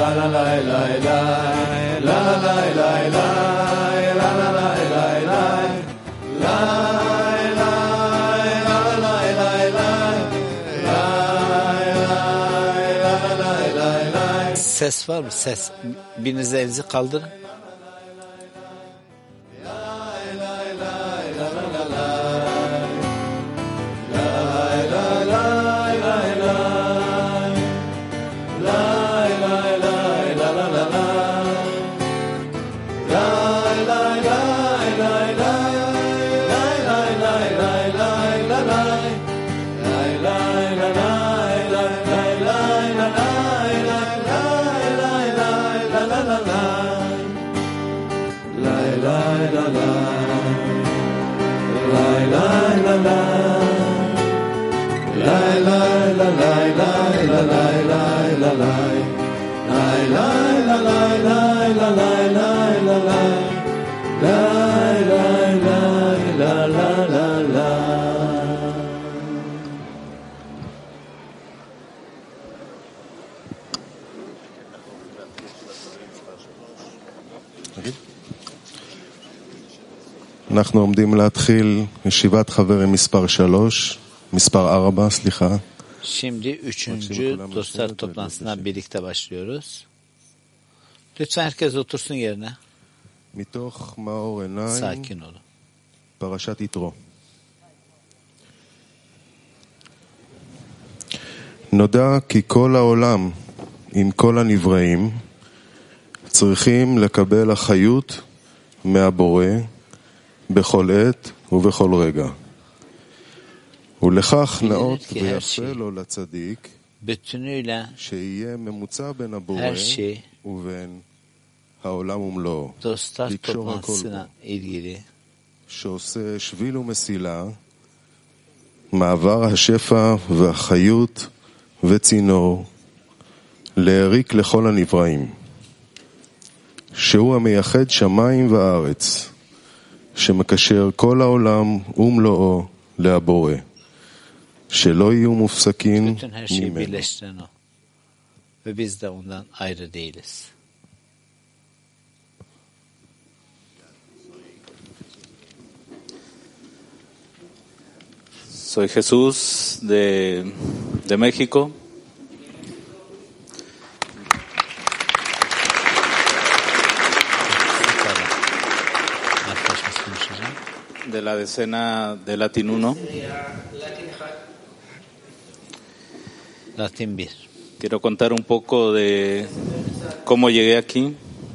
Ses var mı? Ses. Biriniz elinizi kaldırın. אנחנו עומדים להתחיל ישיבת חברים מספר 4, סליחה. Şimdi 3. dostlar toplantısına birlikte başlıyoruz. Lütfen herkes otursun yerine. מתוך מאור עיניים, Sakin olun. פרשת יתרו. נודע כי כל העולם עם כל הנבראים צריכים לקבל אחריות מהבורא בכל עת ובכל רגע. ולכך נאות ויפה לו לצדיק שיהיה ממוצע בין הבורא ובין העולם ומלואו. לקשור הכל בו. שעושה שביל ומסילה, מעבר השפע והחיות וצינור, להריק לכל הנבראים. שהוא המייחד שמיים וארץ, שמקשר כל העולם ומלואו להבורא. שלא יהיו מופסקים ממנו. Ve biz de ondan ayrı değiliz. Soy Jesús de México. De la decena de Latin 1. Latin 1. Quiero contar un poco de cómo llegué aquí.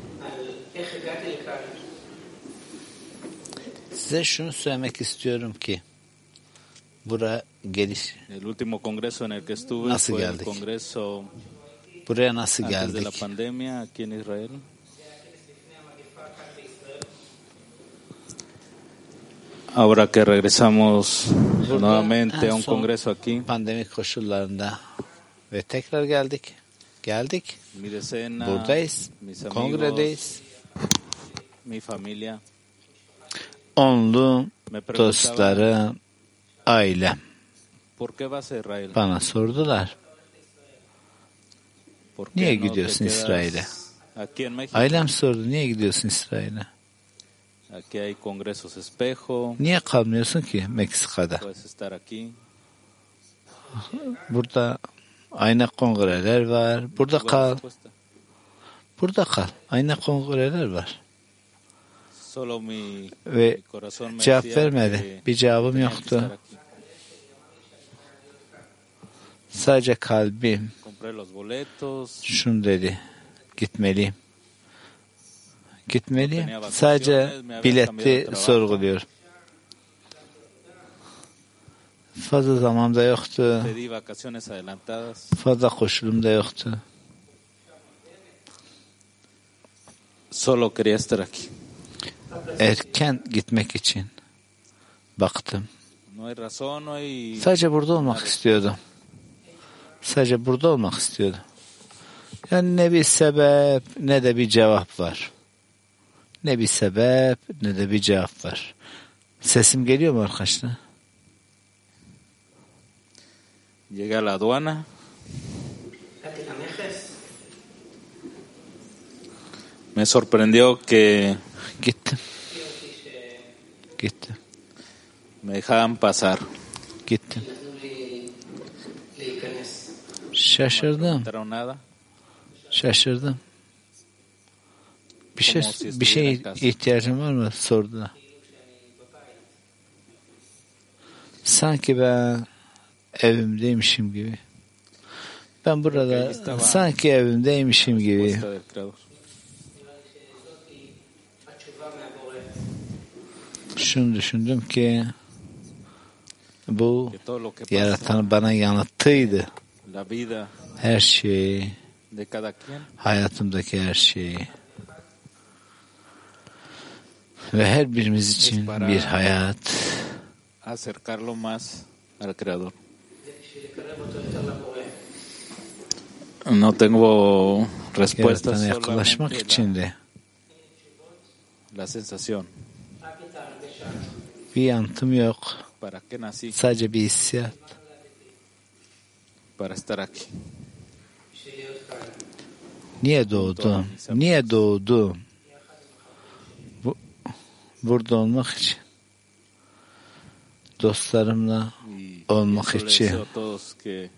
Size şunu söylemek istiyorum ki buraya geliş. El último congreso en el que estuve Nasıl fue el geldik? congreso Buraya nasıl antes de la geldik? pandemia aquí en Israel. Ahora que regresamos nuevamente a un congreso aquí, Pandemik koşullarında ve tekrar geldik. mi decena, Buradayız. mis amigos, Kongredeyiz. mi familia, Onlu me preguntaban, dostları, ailem ¿por qué vas a Israel? bana sordular. ¿Por Niye qué no te gidiyorsun quedas İsrail'e? aquí en México? Ailem sordu, niye gidiyorsun İsrail'e? Aquí hay congresos espejo, Niye kalmıyorsun ki Meksika'da? puedes estar aquí. Burada ayna kongreler var. Burada Buena kal. respuesta. Burada kal. Ayna kongreler var. Solo mi Ve corazón me cevap decía vermedi. que Bir cevabım tenía que yoktu. estar aquí. Sadece kalbim Compré los boletos, şunu dedi. Gitmeliyim. Sadece bileti sorguluyor. Fazla zaman da yoktu. pedí vacaciones adelantadas. Fazla koşulum da yoktu. Solo quería estar aquí. Erken gitmek için baktım. No hay razón, no hay... Sadece burada olmak istiyordum. Yani ne bir sebep ne de bir cevap var. Sesim geliyor mu arkadaşlar? Llegué a la aduana. Me sorprendió que Gittim. Gittim. me dejaban pasar. Gittim. Şaşırdım. No nada. Şaşırdım. Bir şey ihtiyacın var mı? Sordular. Sanki ben evimdeymişim gibi. Ben burada sanki evimdeymişim gibi. Şunu düşündüm ki bu yaratan bana yanıttıydı. Her şey, hayatımdaki her şey ve her birimiz için bir hayat. Acercarlo más al Creador. No tengo respuestas, Yaratana yaklaşmak solamente için de la sensación. bir yanıtım yok. ¿Para qué nací? Sadece bir hissiyat. Para estar aquí. Niye doğdum? Niye doğdum? Burada olmak için. Dostlarımla olmak Yo les için. deseo a todos que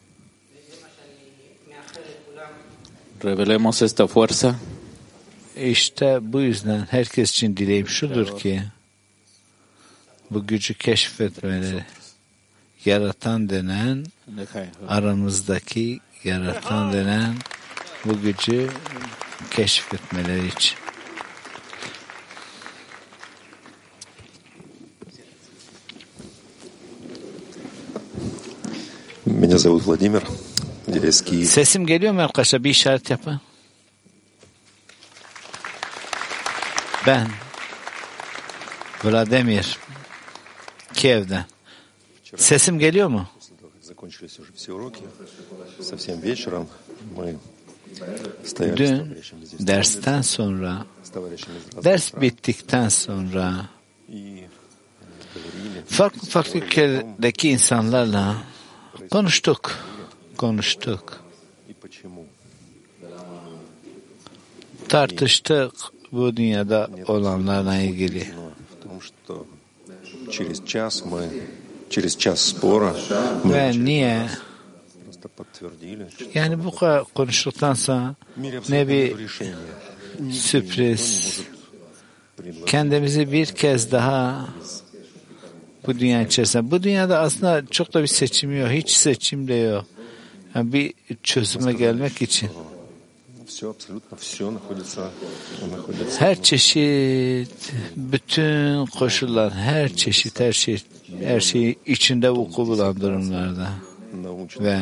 revelemos esta fuerza İşte bu yüzden herkes için dileğim şudur ki bu gücü keşfetmeleri, yaratan denen, aramızdaki yaratan denen bu gücü keşfetmeleri için. Меня зовут Владимир, я из Киева. Sesim geliyor mu arkadaşlar? Bir işaret yapın. Ben Vladimir, Kiev'den. Sesim geliyor mu? Закончились уже все уроки. Совсем вечером мы стояли с Dün товарищами здесь. dersten sonra, С товарищами из разных ders стран. bittikten sonra И говорили, farklı ülkelerdeki insanlarla konuştuk. и почему. Tartıştık bu dünyada olanlarla ilgili. Но в том, что через час спора мы Ve niye? просто подтвердили, что Yani bu kadar konuştuktan sonra в мире ne абсолютно bir нет решения. sürpriz. Kendimizi bir kez daha bu dünya içerisinde. Bu dünyada aslında çok da bir seçim yok. Hiç seçim de yok. Yani bir çözüme gelmek için. Все, абсолютно все находится. Her çeşit, bütün koşullar, her çeşit, her şey içinde vuku bulan durumlarda. Ve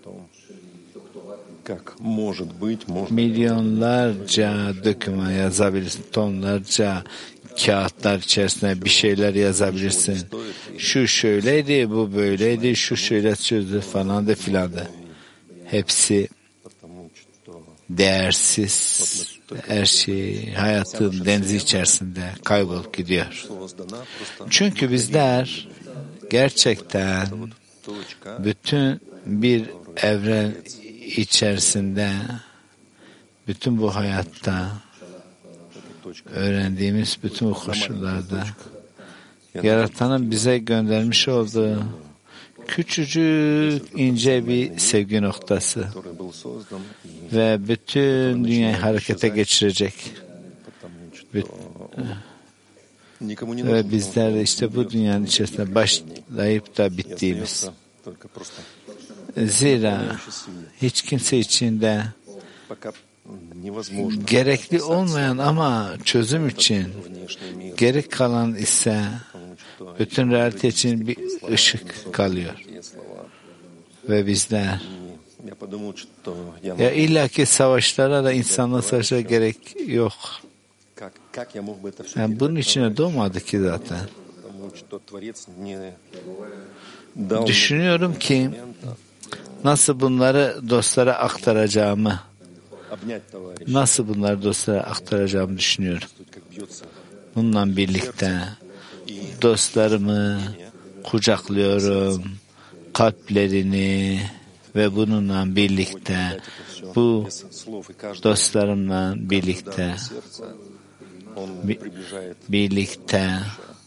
milyonlarca doküman yazabilirsin, tonlarca kağıtlar içerisinde bir şeyler yazabilirsin. Şu şöyleydi, bu böyleydi, şu şöyle çözdü falan da filan da. Hepsi değersiz, her şey hayatın denizi içerisinde kaybolup gidiyor. Çünkü bizler gerçekten bütün bir evren içerisinde, bütün bu hayatta öğrendiğimiz bütün bu koşullarda Yaratan'ın bize göndermiş olduğu küçücük ince bir sevgi noktası ve bütün dünyayı harekete geçirecek. Ve bizler de işte bu dünyanın içerisinde başlayıp da bittiğimiz. Zira hiç kimse içinde gerekli olmayan ama çözüm için gerek kalan ise bütün realite için bir ışık kalıyor. Ve bizler ya illaki savaşlara da insanla savaşa gerek yok. Yani bunun içine doğmadı ki zaten. Düşünüyorum ki nasıl bunları dostlara aktaracağımı düşünüyorum. Bununla birlikte dostlarımı kucaklıyorum, kalplerini ve bununla birlikte, bu dostlarımla birlikte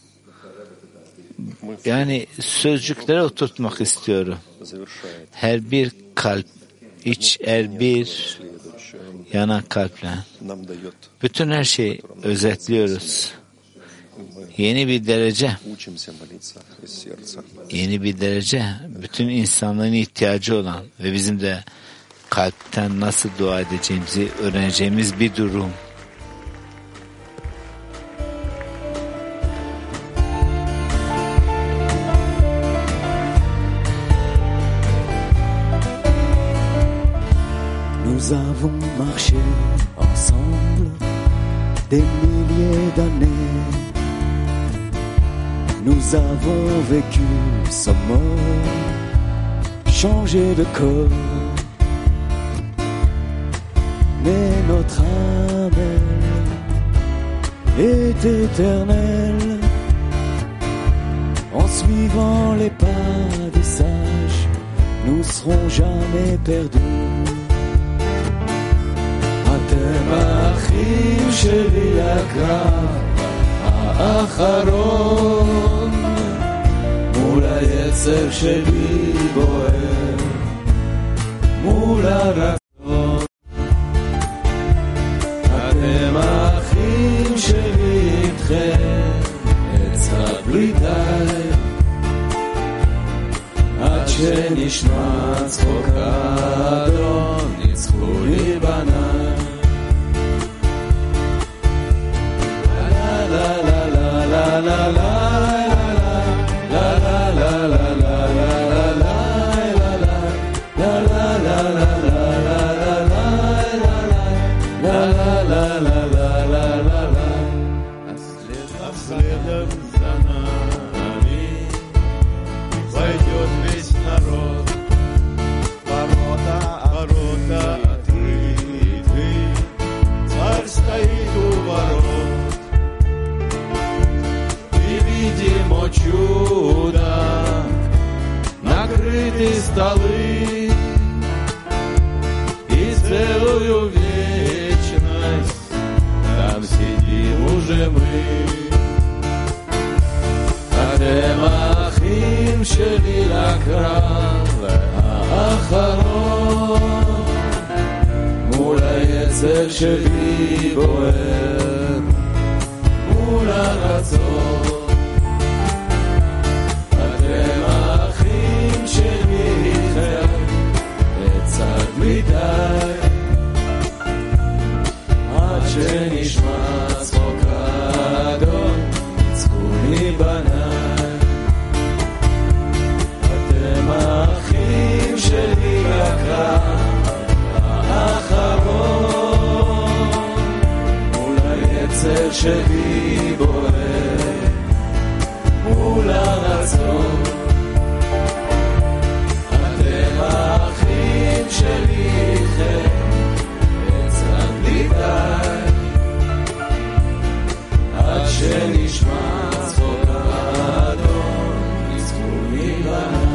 yani sözcüklere oturtmak istiyorum. Her bir kalp, her bir yanak kalple bütün her şeyi özetliyoruz. Yeni bir derece, bütün insanların ihtiyacı olan ve bizim de kalpten nasıl dua edeceğimizi öğreneceğimiz bir durum. Nous avons marché ensemble des milliers d'années. Nous avons vécu sans mort, changé de corps. Mais notre âme est éternelle. En suivant les pas des sages, nous serons jamais perdus. אתם האחים שלי הקרב האחרון מול היצר שלי בוער מול הרצון אתם האחים שלי איתכם אצחק בלי די עד שנשמע צחוק האדון ניצחו לי בניי Следом за нами пойдет весь народ. Ворота открыты, царь стоит у ворот. И видим, о чудо, накрыты столы, и целую вечность там сидим уже мы. אתם האחים שלי לקרב האחרון מול היצר שלי בוער מול הרצון אתם האחים שלי איתכם אצעק בלי די עד שנשמע צחוק האדון ניצחוני בניי האחים שלי לקרב האחרון מול היצר שלי בוער מול הרצון אתם האחים שלי איתכם אצעק בלי די עד שנשמע צחוק האדון ניצחוני בניי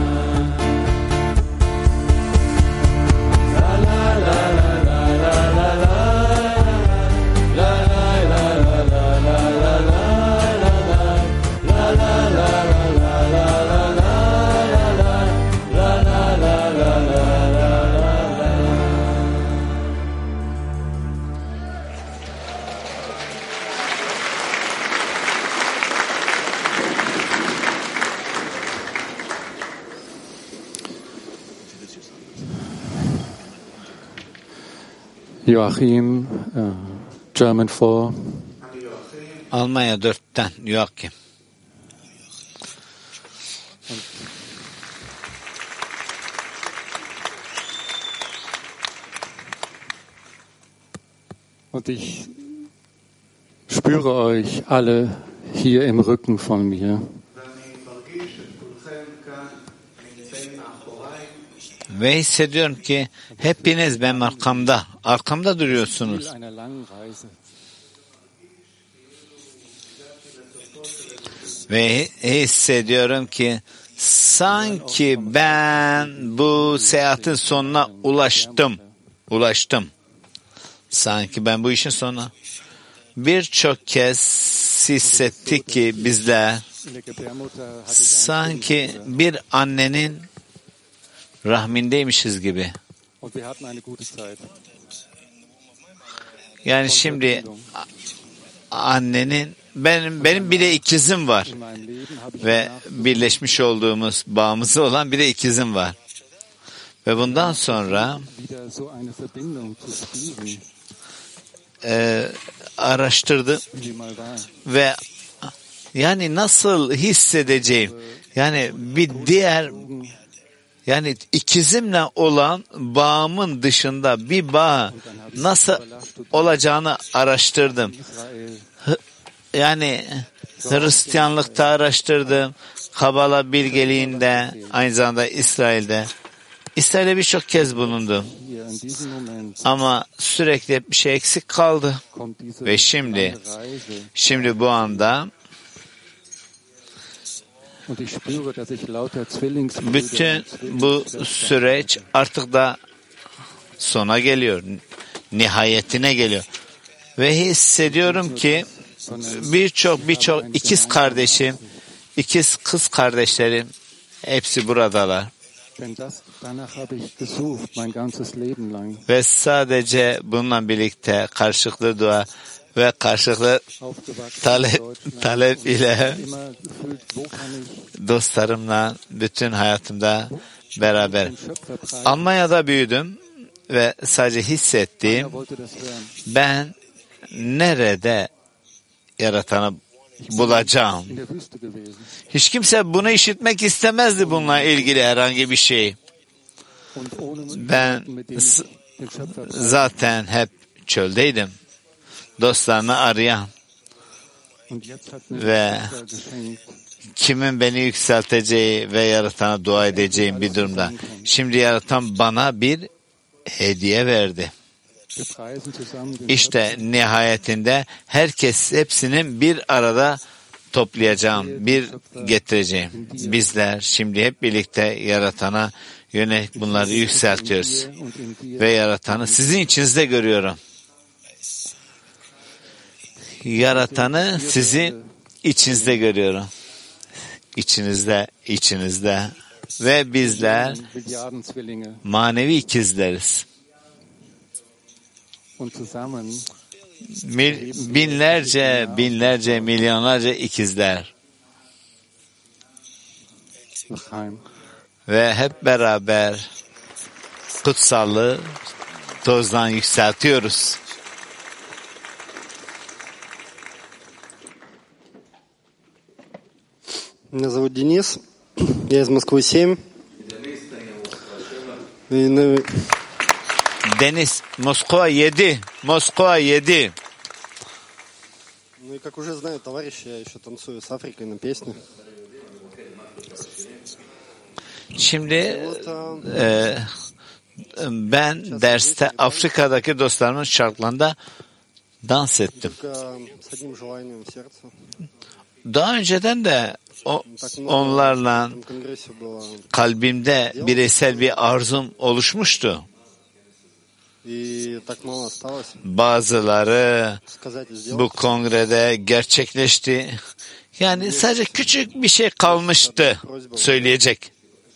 Joachim, German 4. Almanya 4'ten Joachim. Und ich spüre euch alle hier im Rücken von mir. Ve hissediyorum ki hepiniz benim arkamda duruyorsunuz. Ve hissediyorum ki Sanki ben bu seyahatin sonuna ulaştım. Sanki ben bu işin sonuna. Birçok kez hissettik ki bizler sanki bir annenin rahmindeymişiz gibi. Yani şimdi annenin benim bir de ikizim var ve birleşmiş olduğumuz bağımızı olan bir de ikizim var ve bundan sonra araştırdım ve yani nasıl hissedeceğim, yani bir diğer, yani ikizimle olan bağımın dışında bir bağ nasıl olacağını araştırdım. Yani Hristiyanlıkta araştırdım, Kabala bilgeliğinde, aynı zamanda İsrail'de birçok kez bulundum. Ama sürekli bir şey eksik kaldı. Ve şimdi bu anda bütün bu süreç artık da sona geliyor. Nihayetine geliyor. Ve hissediyorum ki birçok ikiz kardeşim, ikiz kız kardeşlerim hepsi buradalar. Ve sadece bununla birlikte karşılıklı dua ve karşılıklı talep ile dostlarımla bütün hayatımda beraber. Almanya'da büyüdüm ve sadece hissettiğim, ben nerede Yaratan'ı bulacağım. Hiç kimse bunu işitmek istemezdi bununla ilgili herhangi bir şey. Ben zaten hep çöldeydim. Dostlarını arayan ve kimin beni yükselteceği ve Yaratan'a dua edeceğim bir durumda. Şimdi Yaratan bana bir hediye verdi. İşte nihayetinde hepsinin bir arada toplayacağım, bir getireceğim. Bizler şimdi hep birlikte Yaratan'a yönelik bunları yükseltiyoruz. Ve Yaratan'ı sizin içinizde görüyorum. Yaratan'ı sizin içinizde görüyorum. İçinizde. Ve bizler manevi ikizleriz. Binlerce, milyonlarca ikizler. Ve hep beraber kutsallığı tozdan yükseltiyoruz. Меня зовут Денис, я из Москвы 7. Deniz, Moskova 7. Ну и как уже знают товарищи, я еще танцую с Африкой на песне. Şimdi ben derste Afrika'daki dostlarımın şarkılarında dans ettim. Daha önceden de onlarla kalbimde bireysel bir arzum oluşmuştu. Bazıları bu kongrede gerçekleşti. Yani sadece küçük bir şey kalmıştı söyleyecek.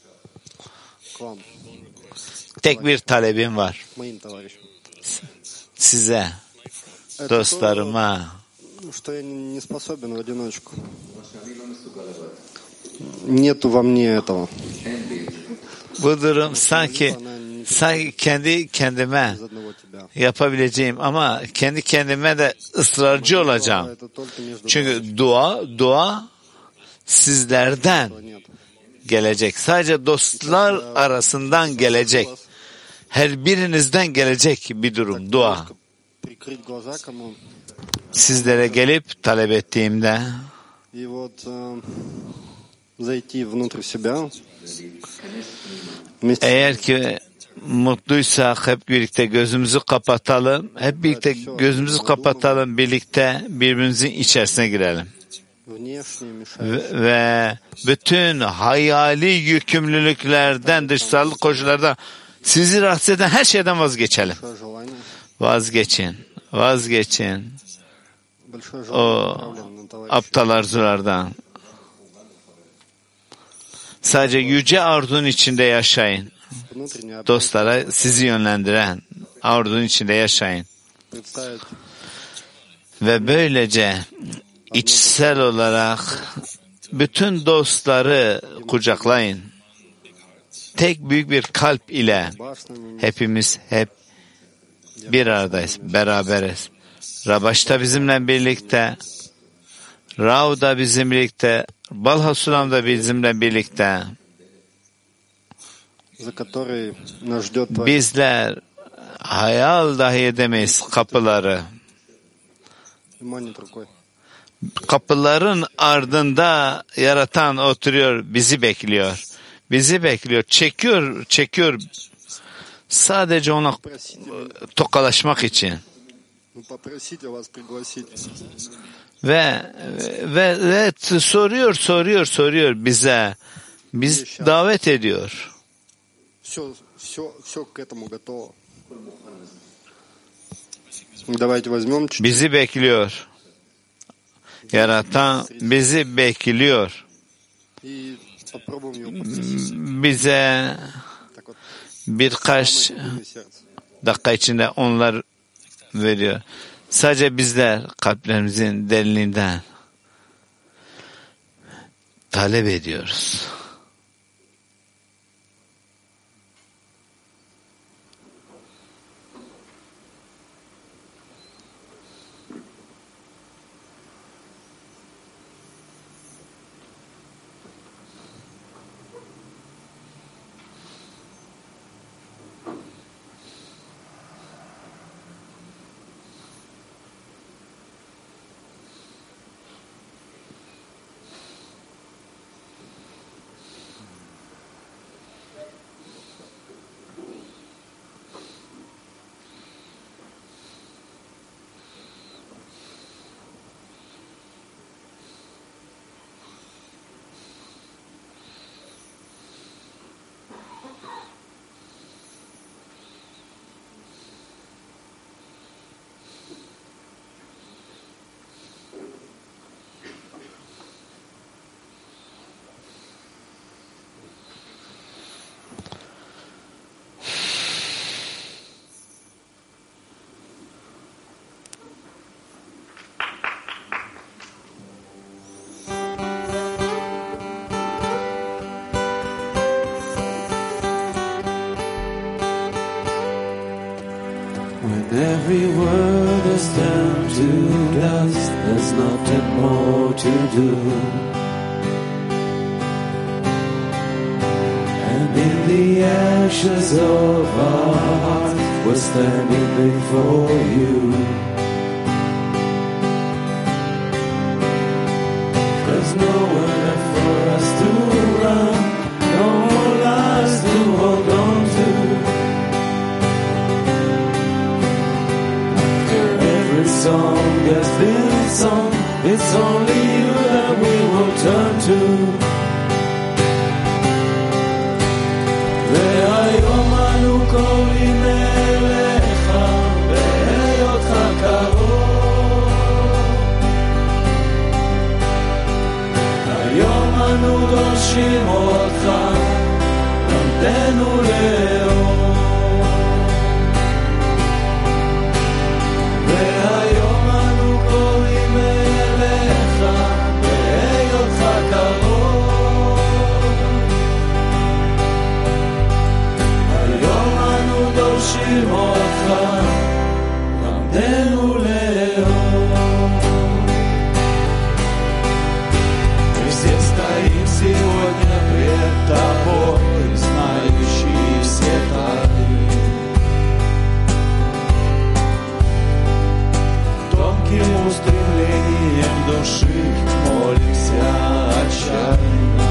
Tek bir talebim var. Size, dostlarıma. Bu durum sanki kendi kendime yapabileceğim ama kendi kendime de ısrarcı olacağım. Çünkü dua sizlerden gelecek. Sadece dostlar arasından gelecek. Her birinizden gelecek bir durum, dua. Sizlere gelip talep ettiğimde eğer ki mutluysak hep birlikte gözümüzü kapatalım. Birlikte birbirimizin içerisine girelim. ve bütün hayali yükümlülüklerden, dışsal koşullarda sizi rahatsız eden her şeyden vazgeçelim. Vazgeçin. O aptal arzulardan. Sadece yüce arzunun içinde yaşayın. Dostlara sizi yönlendiren arzunun içinde yaşayın. Ve böylece içsel olarak bütün dostları kucaklayın. Tek büyük bir kalp ile hepimiz hep bir aradayız, beraberiz. Rabaş da bizimle birlikte, Rav da bizimle birlikte, Balhasulam da bizimle birlikte. Bizler hayal dahi edemeyiz kapıları. Kapıların ardında yaratan oturuyor, bizi bekliyor. Çekiyor. Sadece ona tokalaşmak için. Ve soruyor bize. Biz davet ediyor. Bizi bekliyor. Yaratan bizi bekliyor. Bize birkaç dakika içinde onlar veriyor. Sadece bizler kalplerimizin derinliğinden talep ediyoruz. Every word is turned to dust. There's nothing more to do. And in the ashes of our hearts, we're standing before you. There's nowhere left for us to run, no more lies to hold on to. Song has been sung, it's only you that we will turn to. והיום אנו קוראים אליך בהיותך קרוב. היום אנו דורשים אותך, למדנו לאור. והיום אנו קוראים אליך בהיותך קרוב. היום אנו דורשים אותך, למדנו לאור. Мы все стоим сегодня пред тобой, знающий все тайны. Тонким устремлением души молимся отчаянно.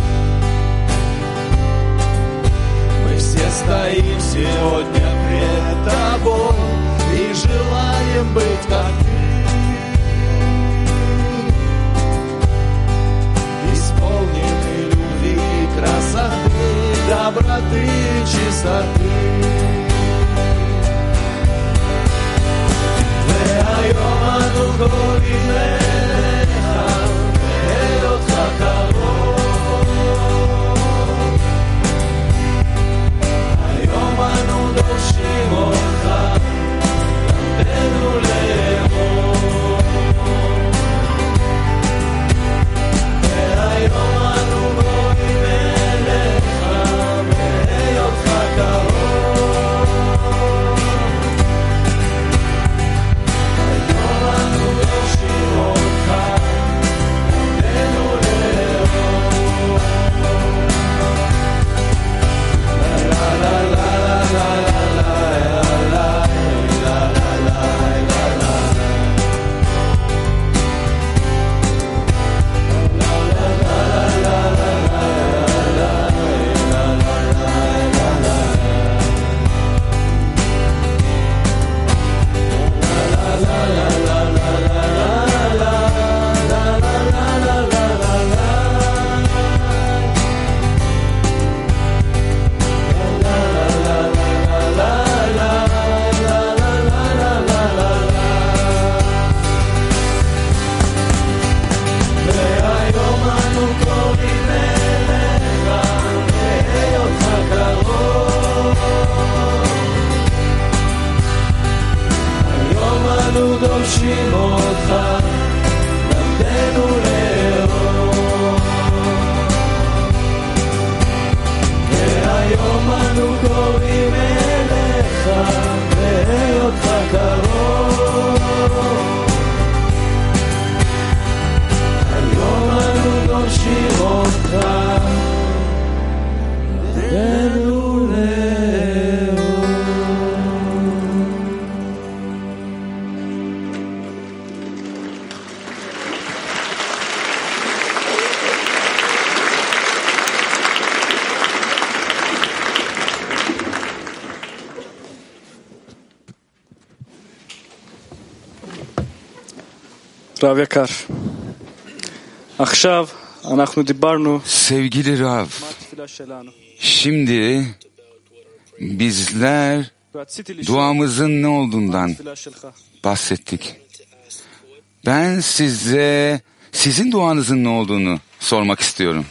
Мы все стоим сегодня пред тобой и желаем быть как אנו דורשים אותך, למדנו לאהוב. והיום אנו קוראים אליך, בהיותך קרוב. היום אנו דורשים אותך, למדנו לאהוב. רב יקר, עכשיו אנחנו דיברנו Sevgili Rav, בתפילה שלנו. şimdi bizler ורציתי לשאול duamızın ne מה olduğundan התפילה שלך. bahsettik. Ben size sizin duanızın ne olduğunu sormak istiyorum.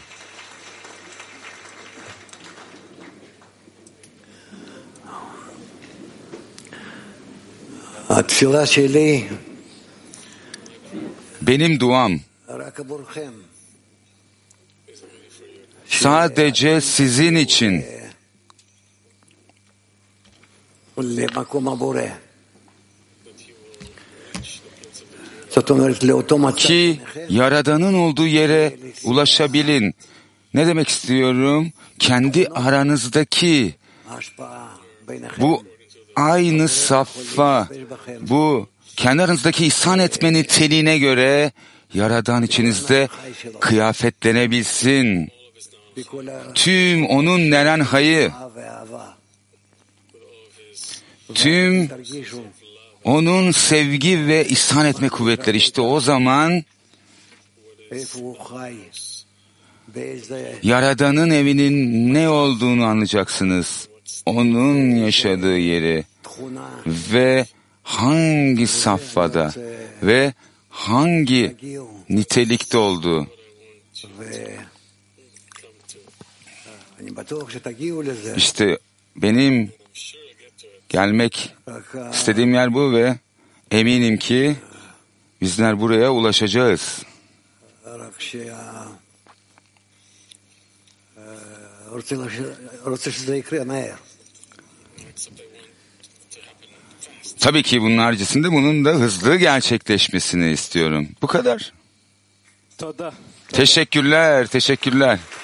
התפילה שלי Benim duam רק עבורכם. sadece sizin için, למקום הבורא. זאת אומרת, לאותו מצב. ki Yaradan'ın olduğu yere ulaşabilin. Ne demek istiyorum? Kendi aranızdaki ההשפעה ביניכם. bu aynı safha, bu kendi aranızdaki ihsan etme niteliğine göre Yaradan içinizde kıyafetlenebilsin. Tüm onun neren hayı, tüm onun sevgi ve ihsan etme kuvvetleri, işte o zaman Yaradan'ın evinin ne olduğunu anlayacaksınız. Onun yaşadığı yeri ve hangi safhada ve hangi nitelikte olduğu. İşte benim gelmek istediğim yer bu ve eminim ki bizler buraya ulaşacağız. Tabii ki bunun haricinde bunun da hızlı gerçekleşmesini istiyorum. Bu kadar. תודה. Teşekkürler, teşekkürler.